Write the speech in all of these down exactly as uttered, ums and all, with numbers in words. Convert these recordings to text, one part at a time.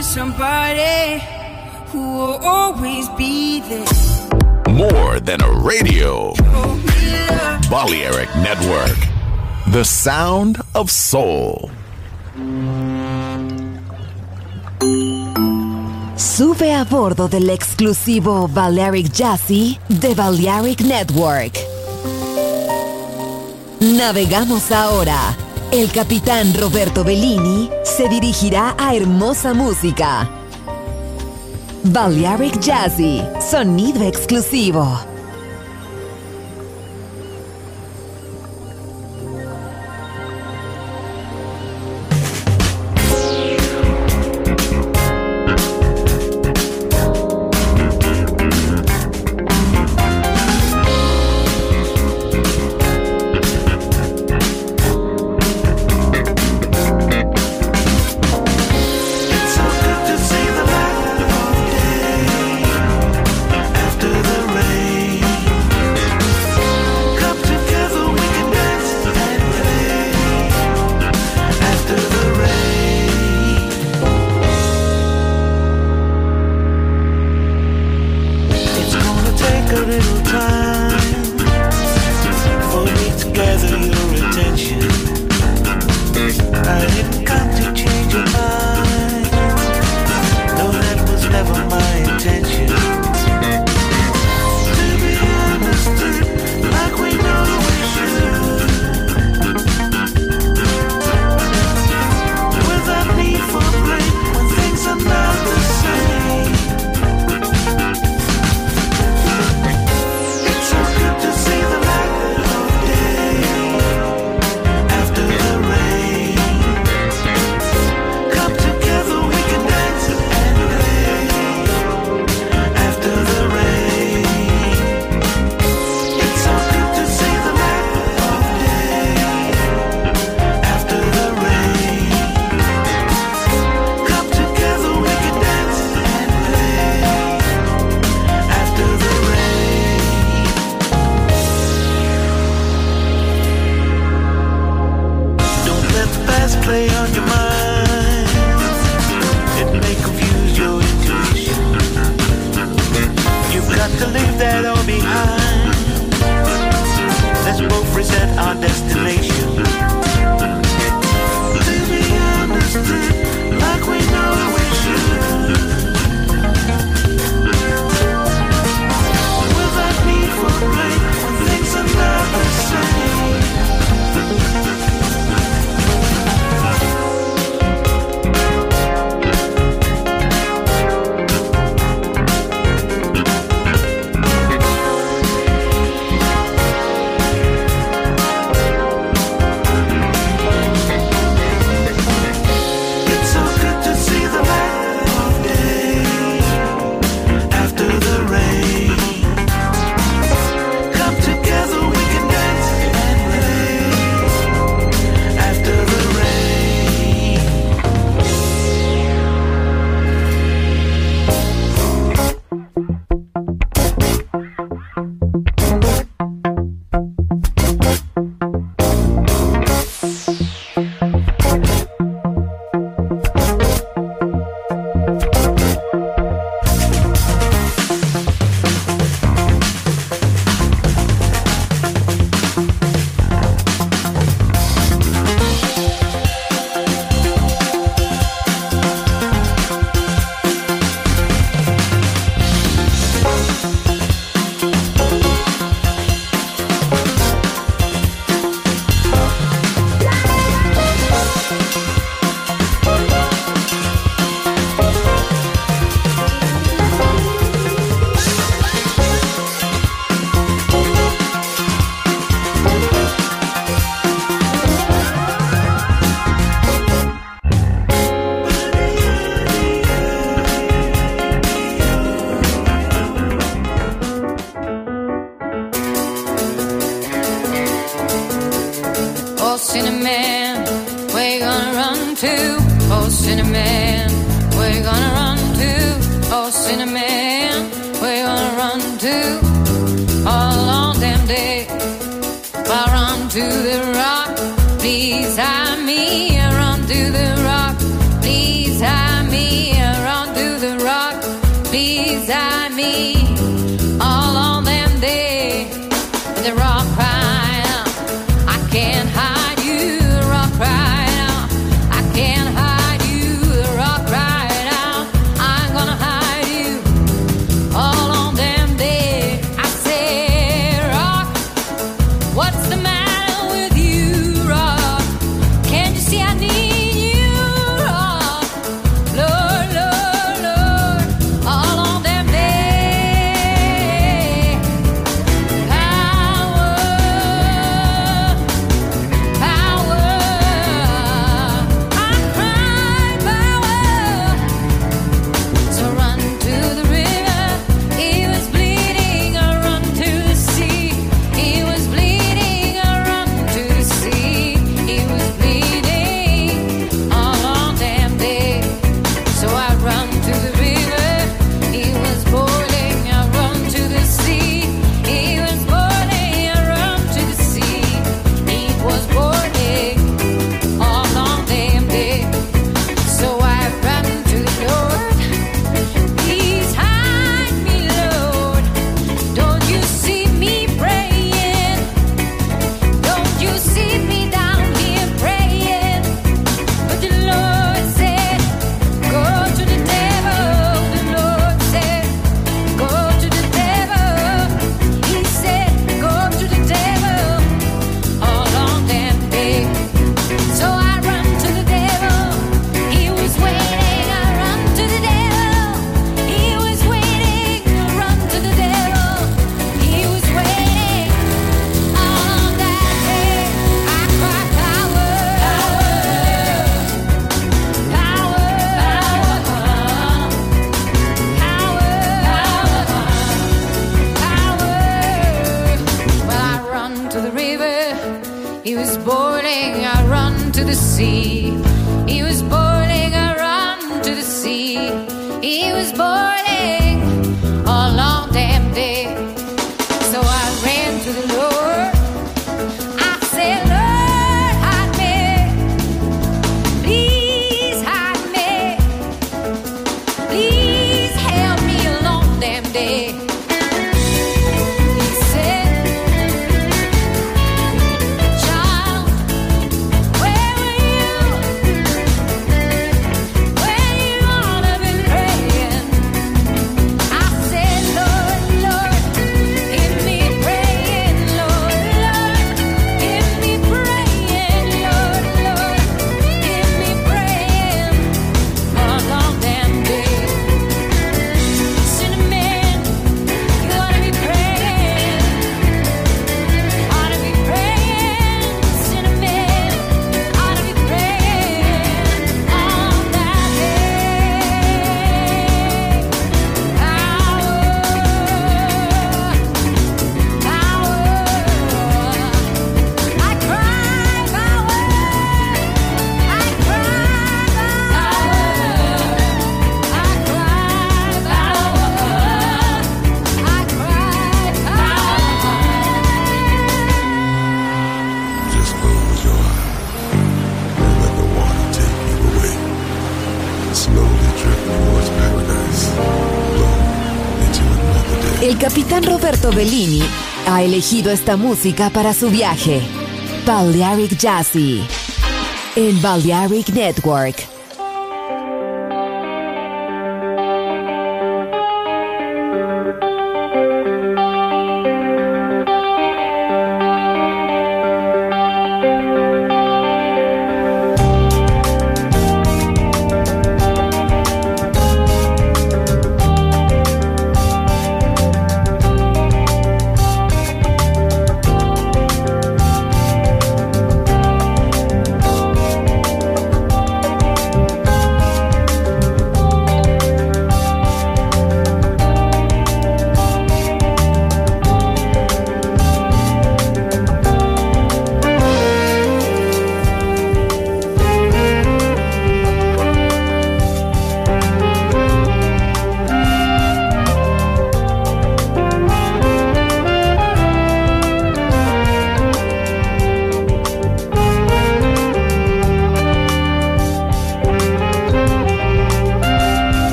with somebody who will always be there. More than a radio. Balearic Network. The sound of soul. Sube a bordo del exclusivo Balearic Jazzy de Balearic Network. Navegamos ahora. El capitán Roberto Bellini se dirigirá a hermosa música. Balearic Jazzy, sonido exclusivo. Cinnamon, where you gonna run to? Oh, Cinnamon, where you gonna run to? Oh, Cinnamon, where you gonna run to? All on them day, I run to the rock. Please hide me, I run to the rock. Please hide me, I El capitán Roberto Bellini ha elegido esta música para su viaje. Balearic Jazzy en Balearic Network.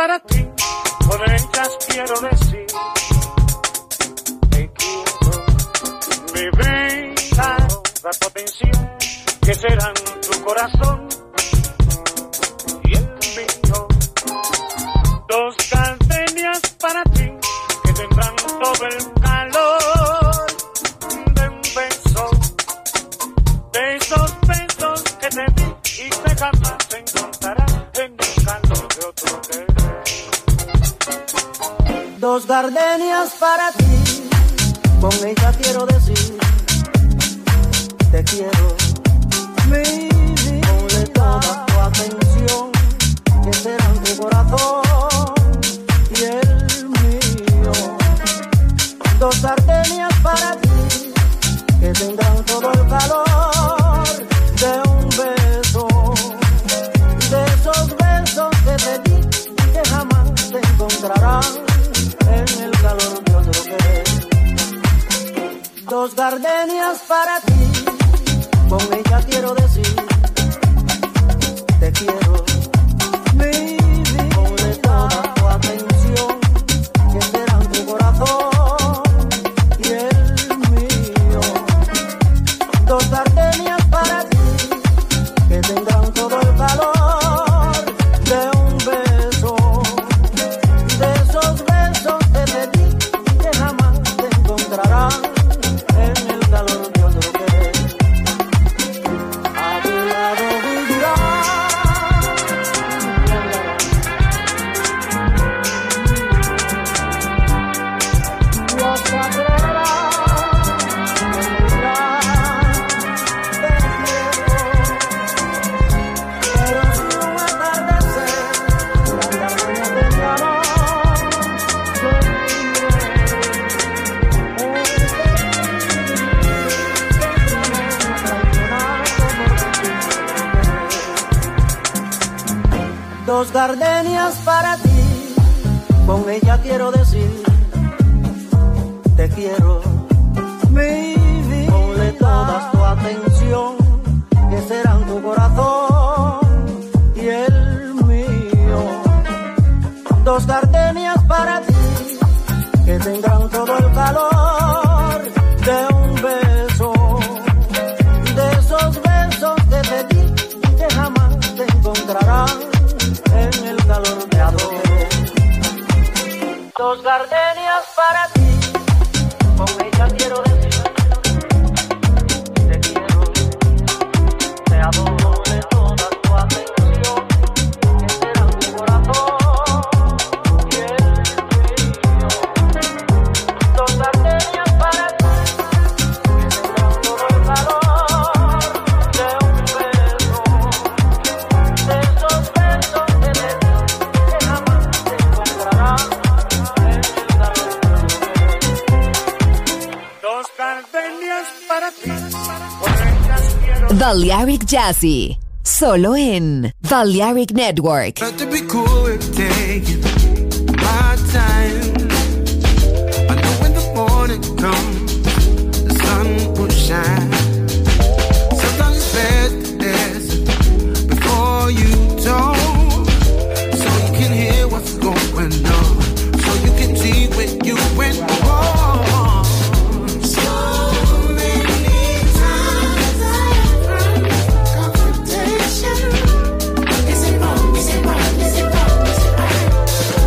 para ti, por ellas quiero decir, te quiero, mi vida, toda tu atención, que serán tu corazón y el mío. Dos gardenias para ti, que tendrán todo el calor de un beso, de esos besos que te di y que jamás te encontrarás en el calor de otro querer. Dos gardenias para ti, con ella quiero decir, te quiero, mi vida, ponle toda tu atención, que será en tu corazón y el mío. Dos gardenias para ti, que tendrán todo el calor de un beso, de esos besos que te di y que jamás te encontrarán en el calor de otro querer. Dos gardenias para ti, con ella quiero decir, te quiero, mi vida, ponle toda tu atención, que será en tu corazón y el mío. Dos gardenias para ti, que tendrán todo el calor de un beso, de esos besos que te di y que jamás te encontrarán en el calor de otro querer. A tu lado vivirá, Dios te adorará, te dirá, te quiero. Pero si un atardecer, la gardenia te llamó, dos gardenias para ti, con ella quiero decir, te quiero, mi vida, ponle toda tu atención, que será en tu corazón y el mío. Dos gardenias para ti, que tendrán todo el calor de un beso, de esos besos que te di y que jamás te encontrarán en el calor de ador. Dos gardenias para ti, con ella quiero decir, te quiero, te adoro de toda tu atención, que será tu corazón y el mío. Dos gardenias para ti, que tendrán todo el calor de un beso, de esos besos que te di que jamás te encontrarán en el calor de tu querer. Dos gardenias para ti, por ellas quiero. Balearic Jazzy, solo en Balearic Network. Not to be cool with taking my time. I know when the morning comes, the sun will shine. Sometimes it's best to listen before you talk, so you can hear what's going on, so you can see where you went wrong. So many times I have run confrontation. Is it wrong? Is it right? Is it wrong? Is it right?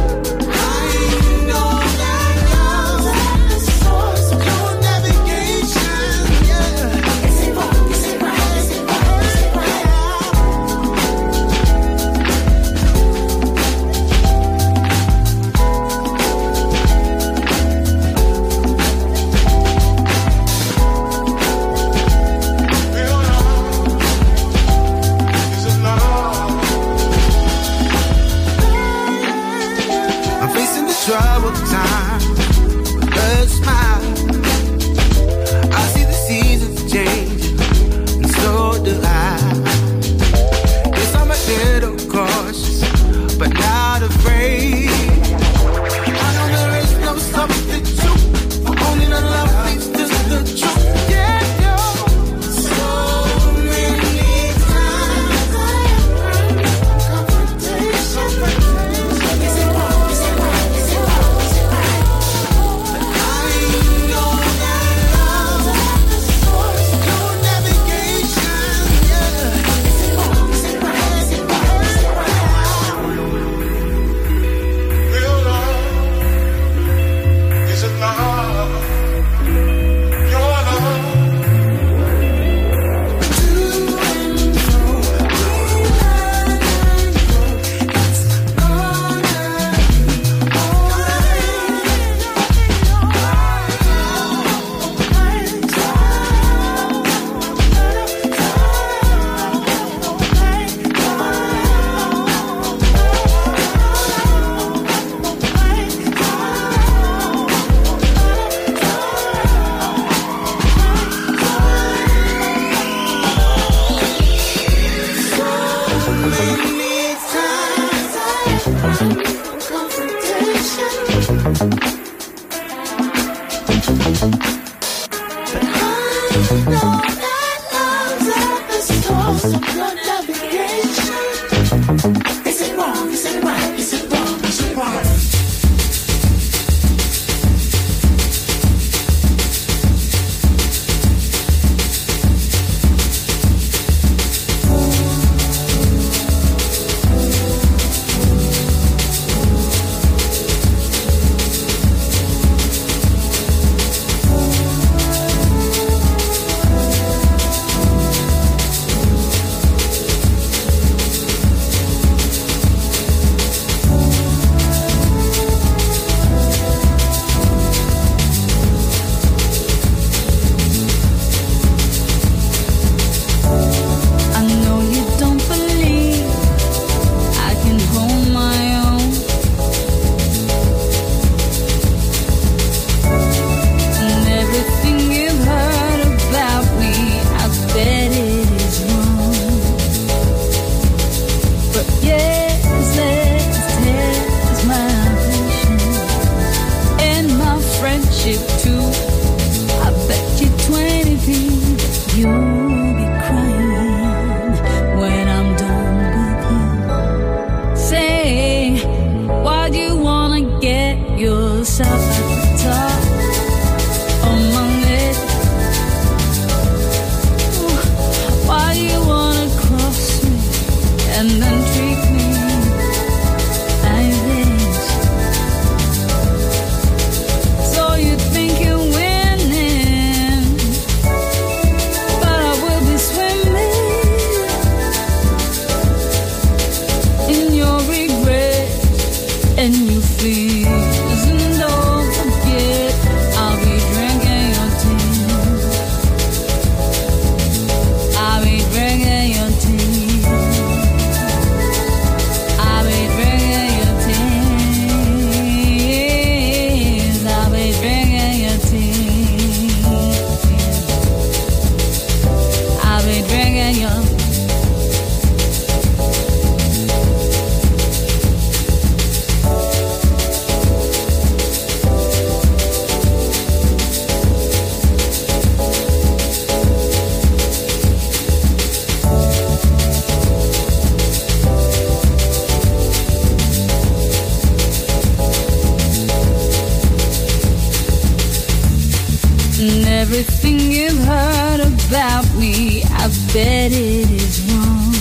bet it is wrong.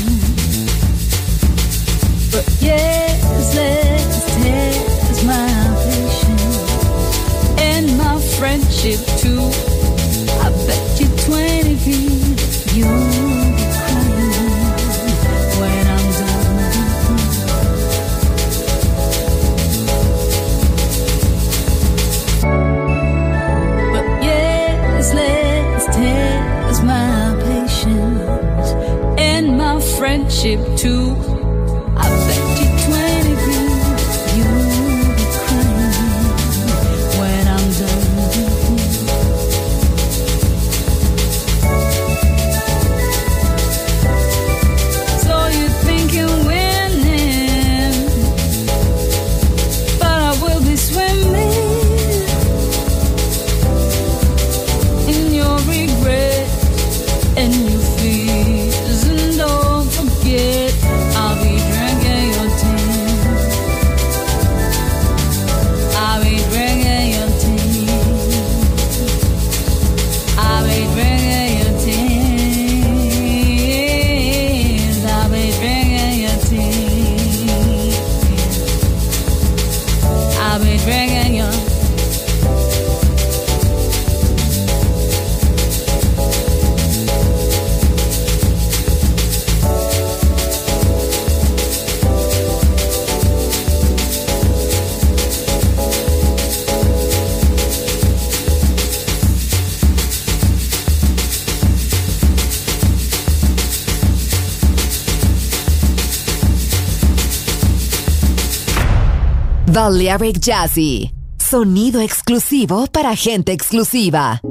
But yes, let's test my patience and my friendship too. I bet you twenty feet you'll be crying when I'm done. But yes, let's test my patience and my friendship too. I bet you twenty feet you'll be crying when I'm done. So you think you're winning, but I will be swimming in your regret and your fears. And don't forget, I'll be drinking your tears. I'll be drinking your tears. I'll be drinking your tears. I'll be drinking your tears. I'll be drinking your. Balearic Jazzy, sonido exclusivo para gente exclusiva.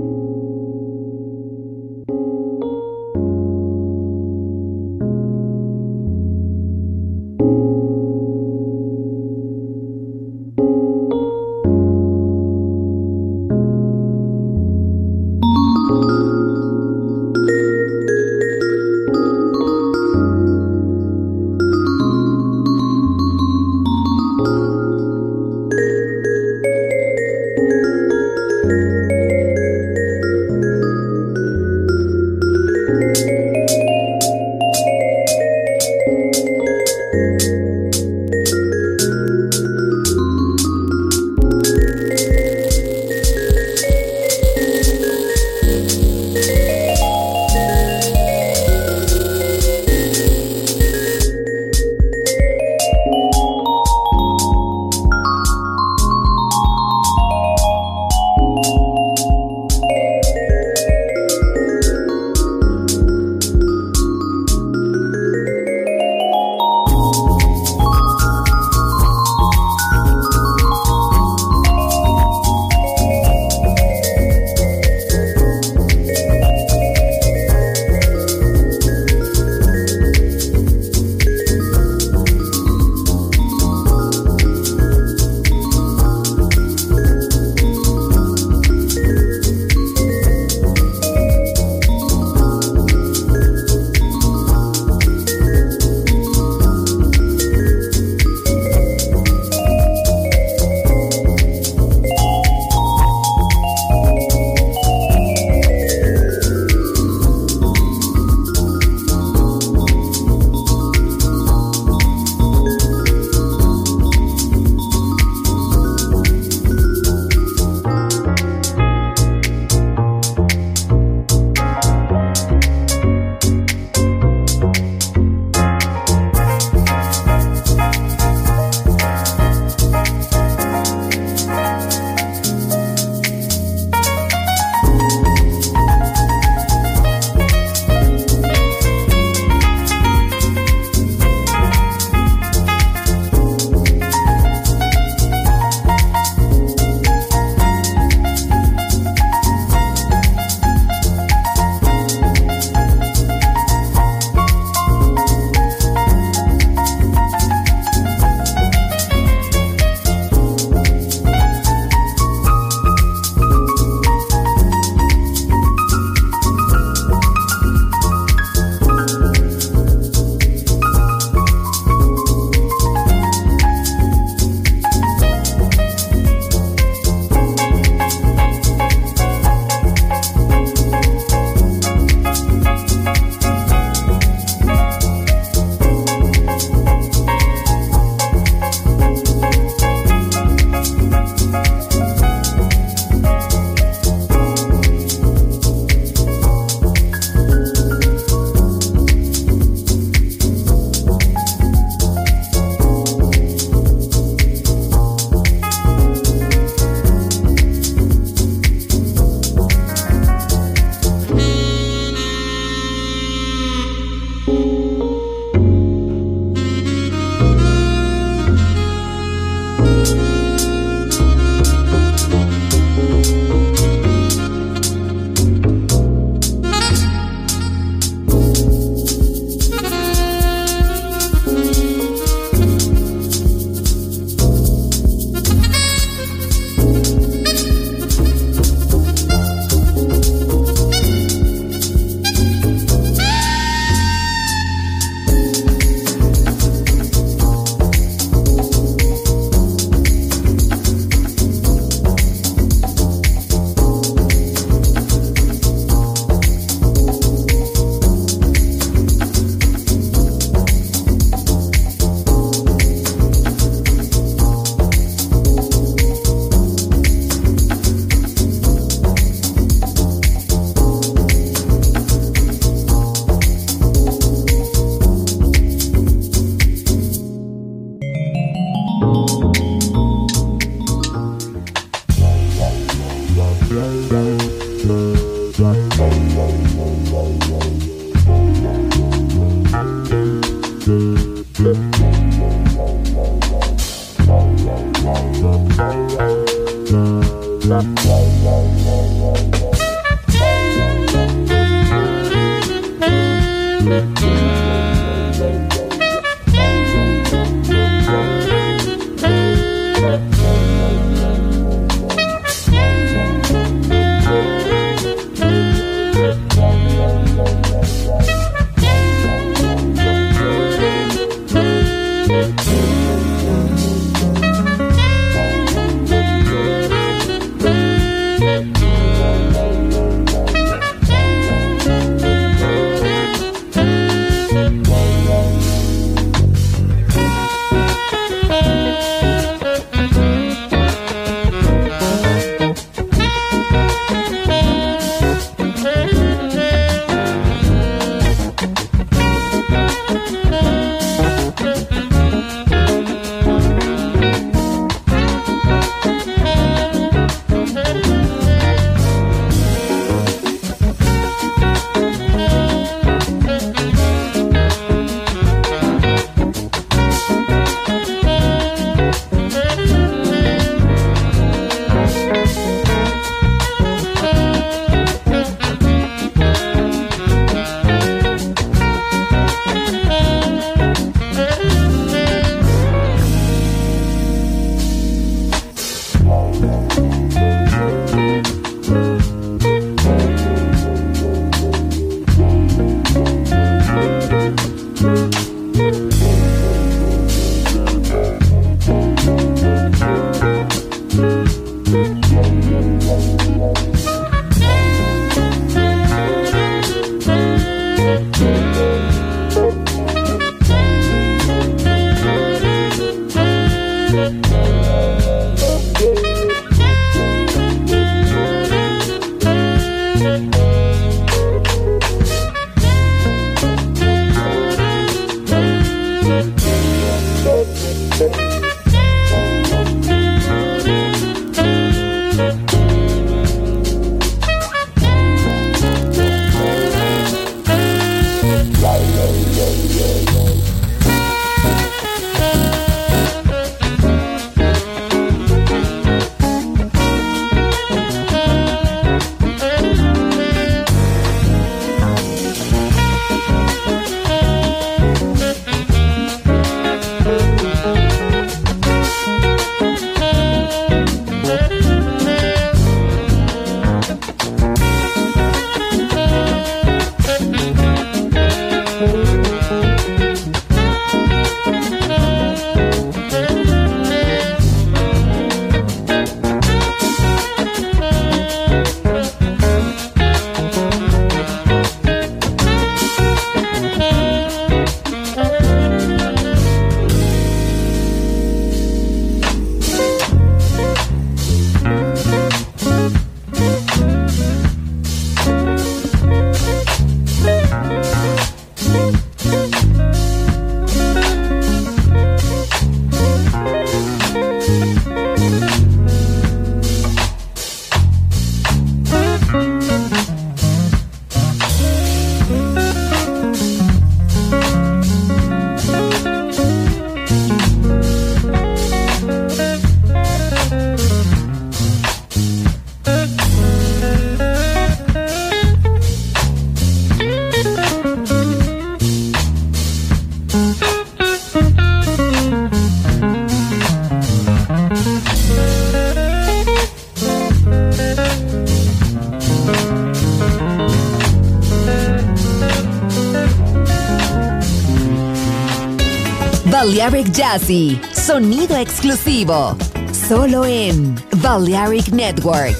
Balearic Jazzy, sonido exclusivo, solo en Balearic Network.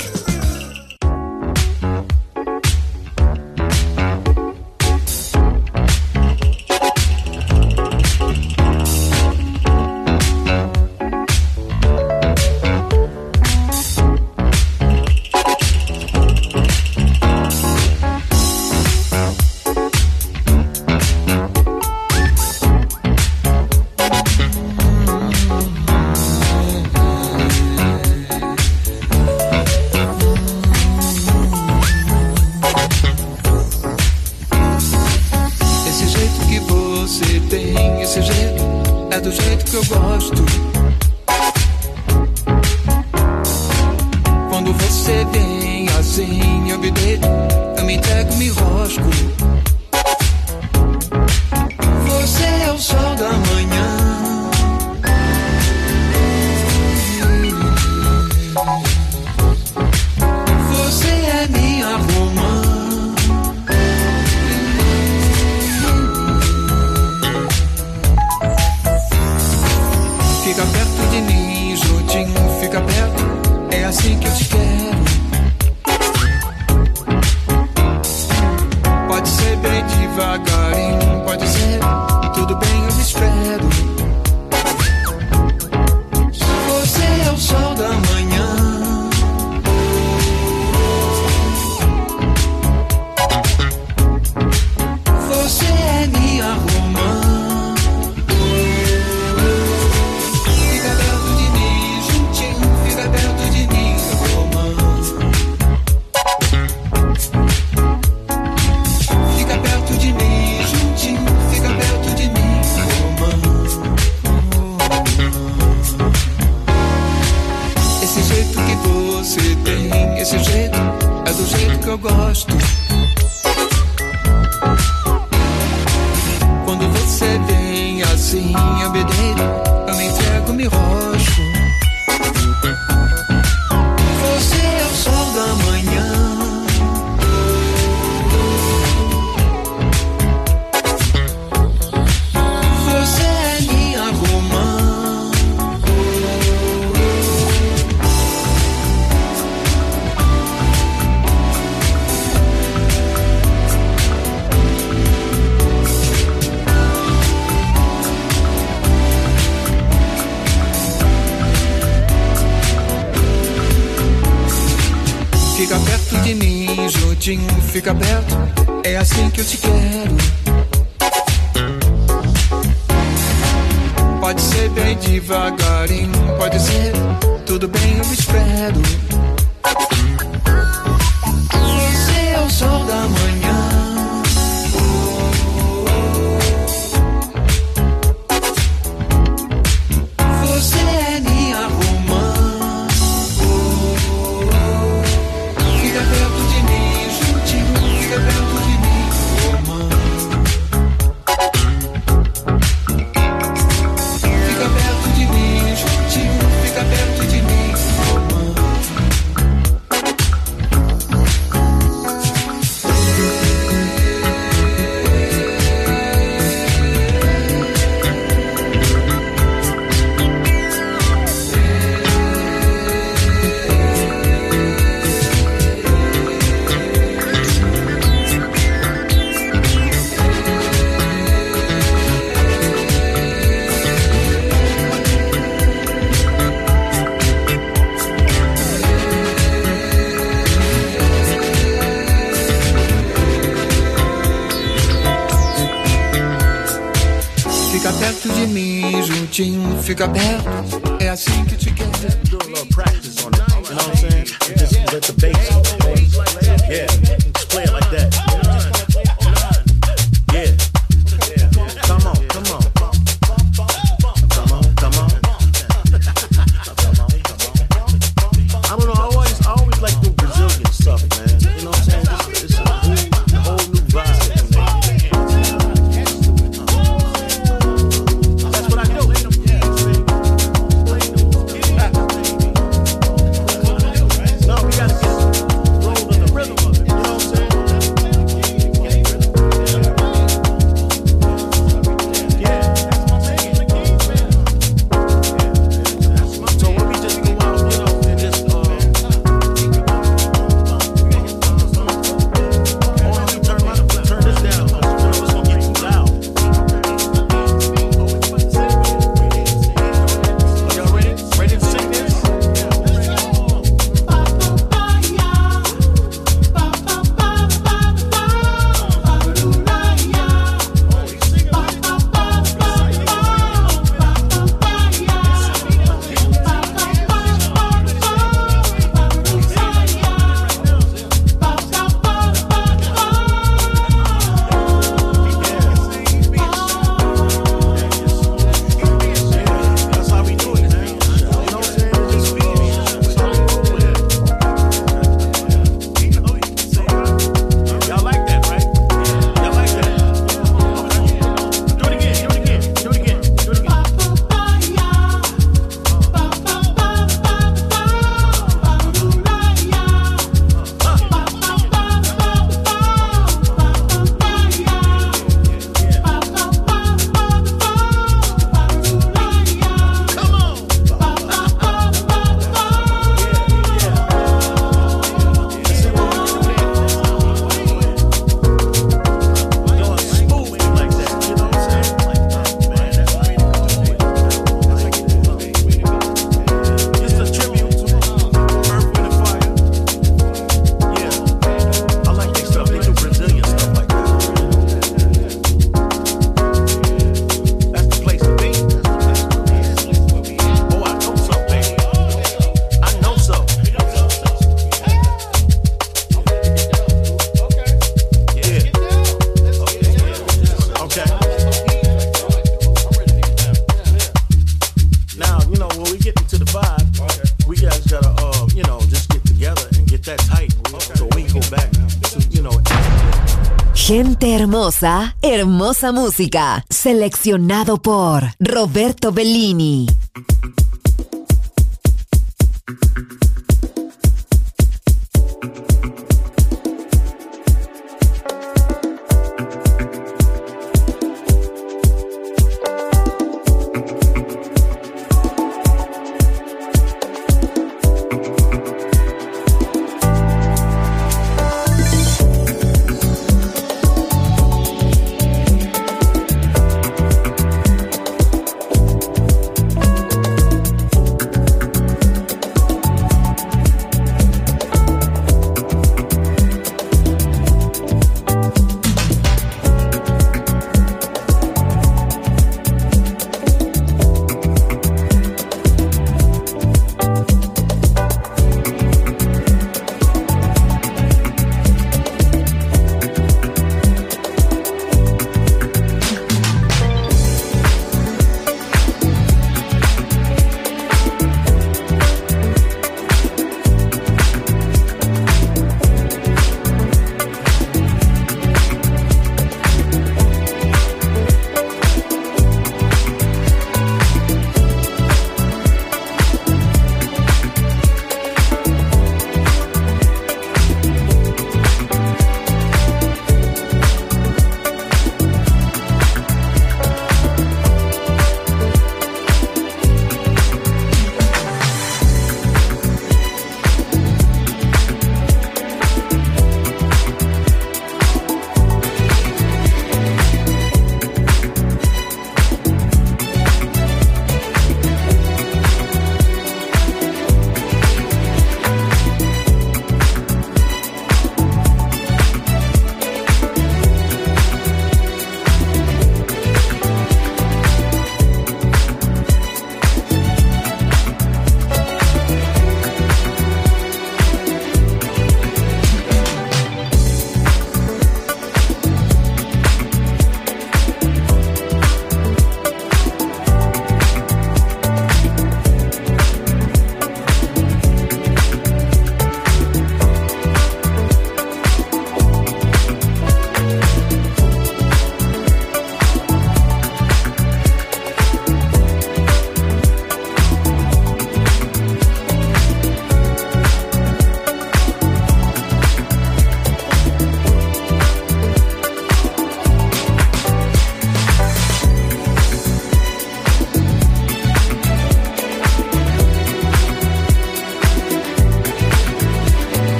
gosto. Quando você vem assim, eu me deito, eu me entrego, me rosto. Você é o sol da manhã. Você é minha romã. Fica perto de mim, juntinho, fica perto. É assim que eu te quero. Pode ser bem devagarinho, pode ser, tudo bem, eu espero. Você é o sol da manhã. Você é minha romã. Fica perto de mim, juntinho, fica perto de mim, romã. Fica perto de mim, juntinho, fica perto de mim, romã. Fica perto de mim, juntinho, fica perto. É assim que te quero. Do a little practice on it, you know what I'm saying? Just let the bass, yeah, just play it like that. Yeah, come on, come on, come on, come on. I don't know, I always, I always like the Brazilian stuff, man. You know what I'm saying? It's, it's a whole, whole new vibe. That's what I do. No, we gotta get rolled on the rhythm of it. You know what I'm saying? Gente hermosa, hermosa música. Seleccionado por Roberto Bellini.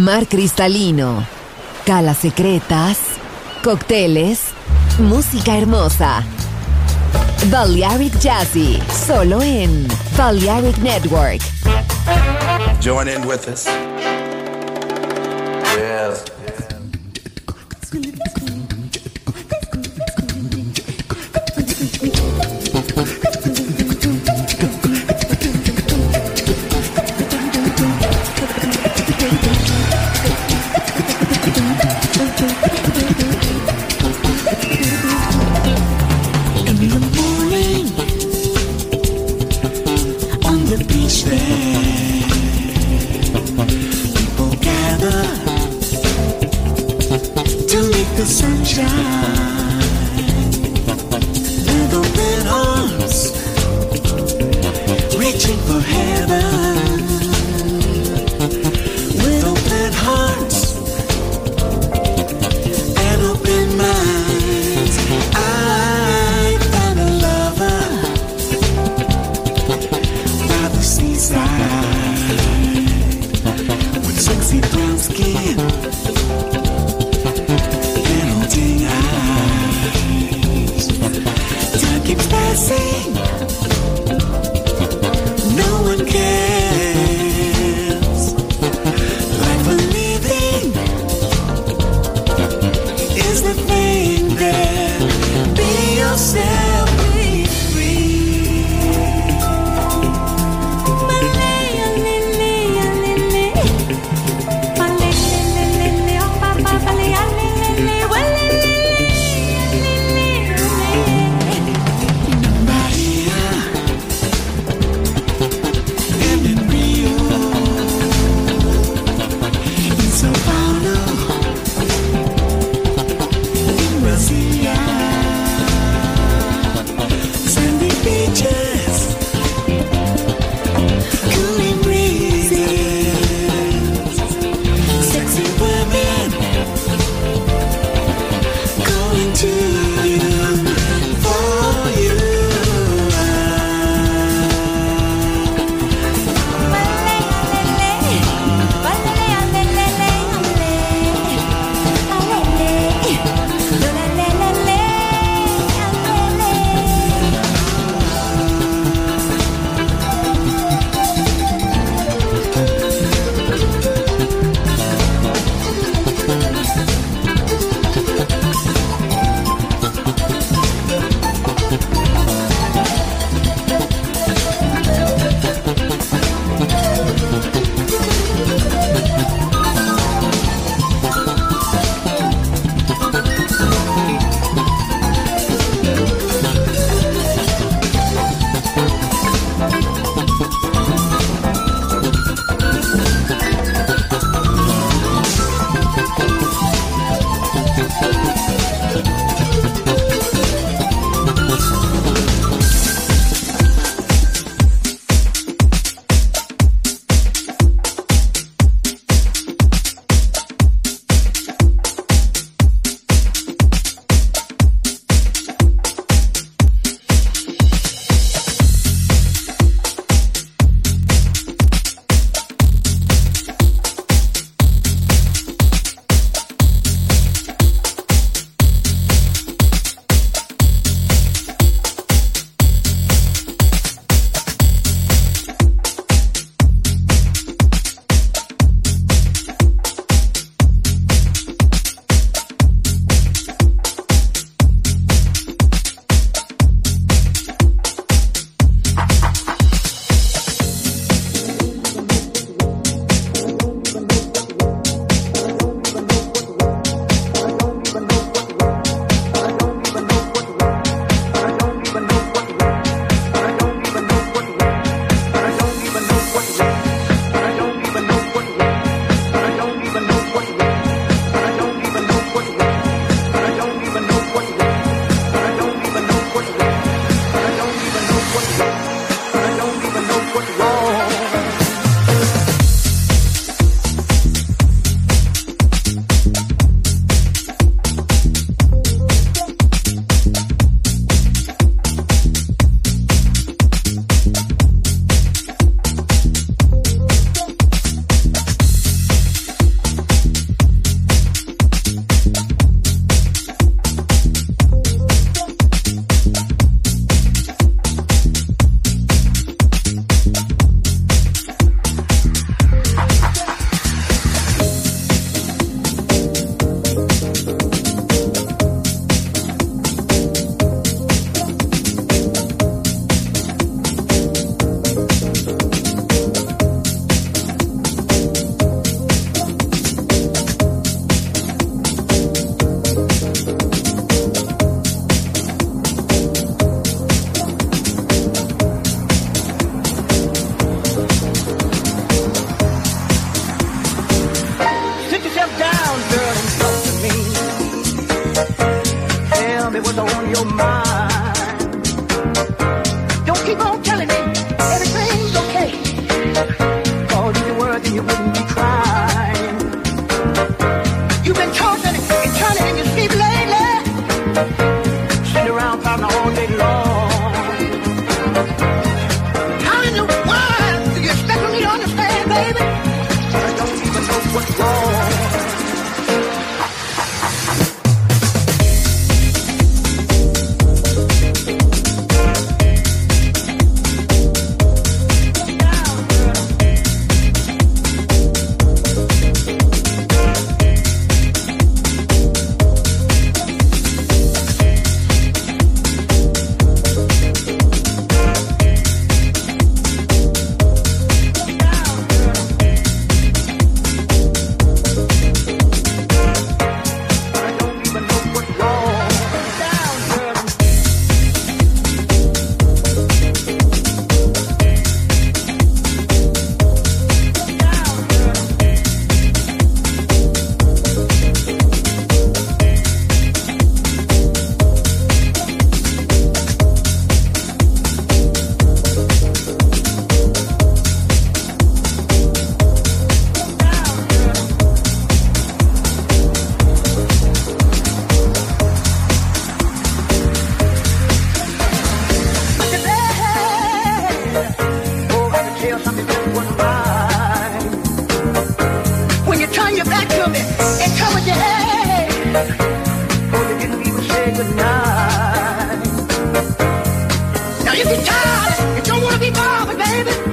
mar cristalino, calas secretas, cócteles, música hermosa. Balearic Jazzy, solo en Balearic Network. Join in with us. Yes.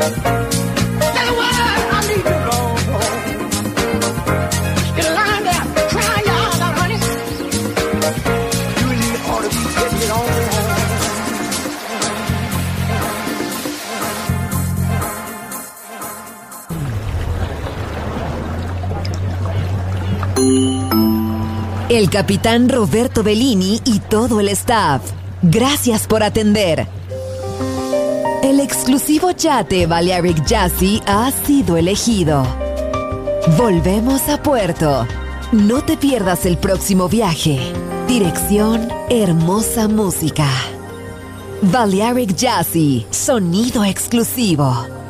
Tell you what, I need to go home. Get a line there, try y'all out, honey. You and me ought to be getting it on. El capitán Roberto Bellini y todo el staff. Gracias por atender. El exclusivo yate Balearic Jazzy ha sido elegido. Volvemos a puerto. No te pierdas el próximo viaje. Dirección Hermosa Música. Balearic Jazzy, sonido exclusivo.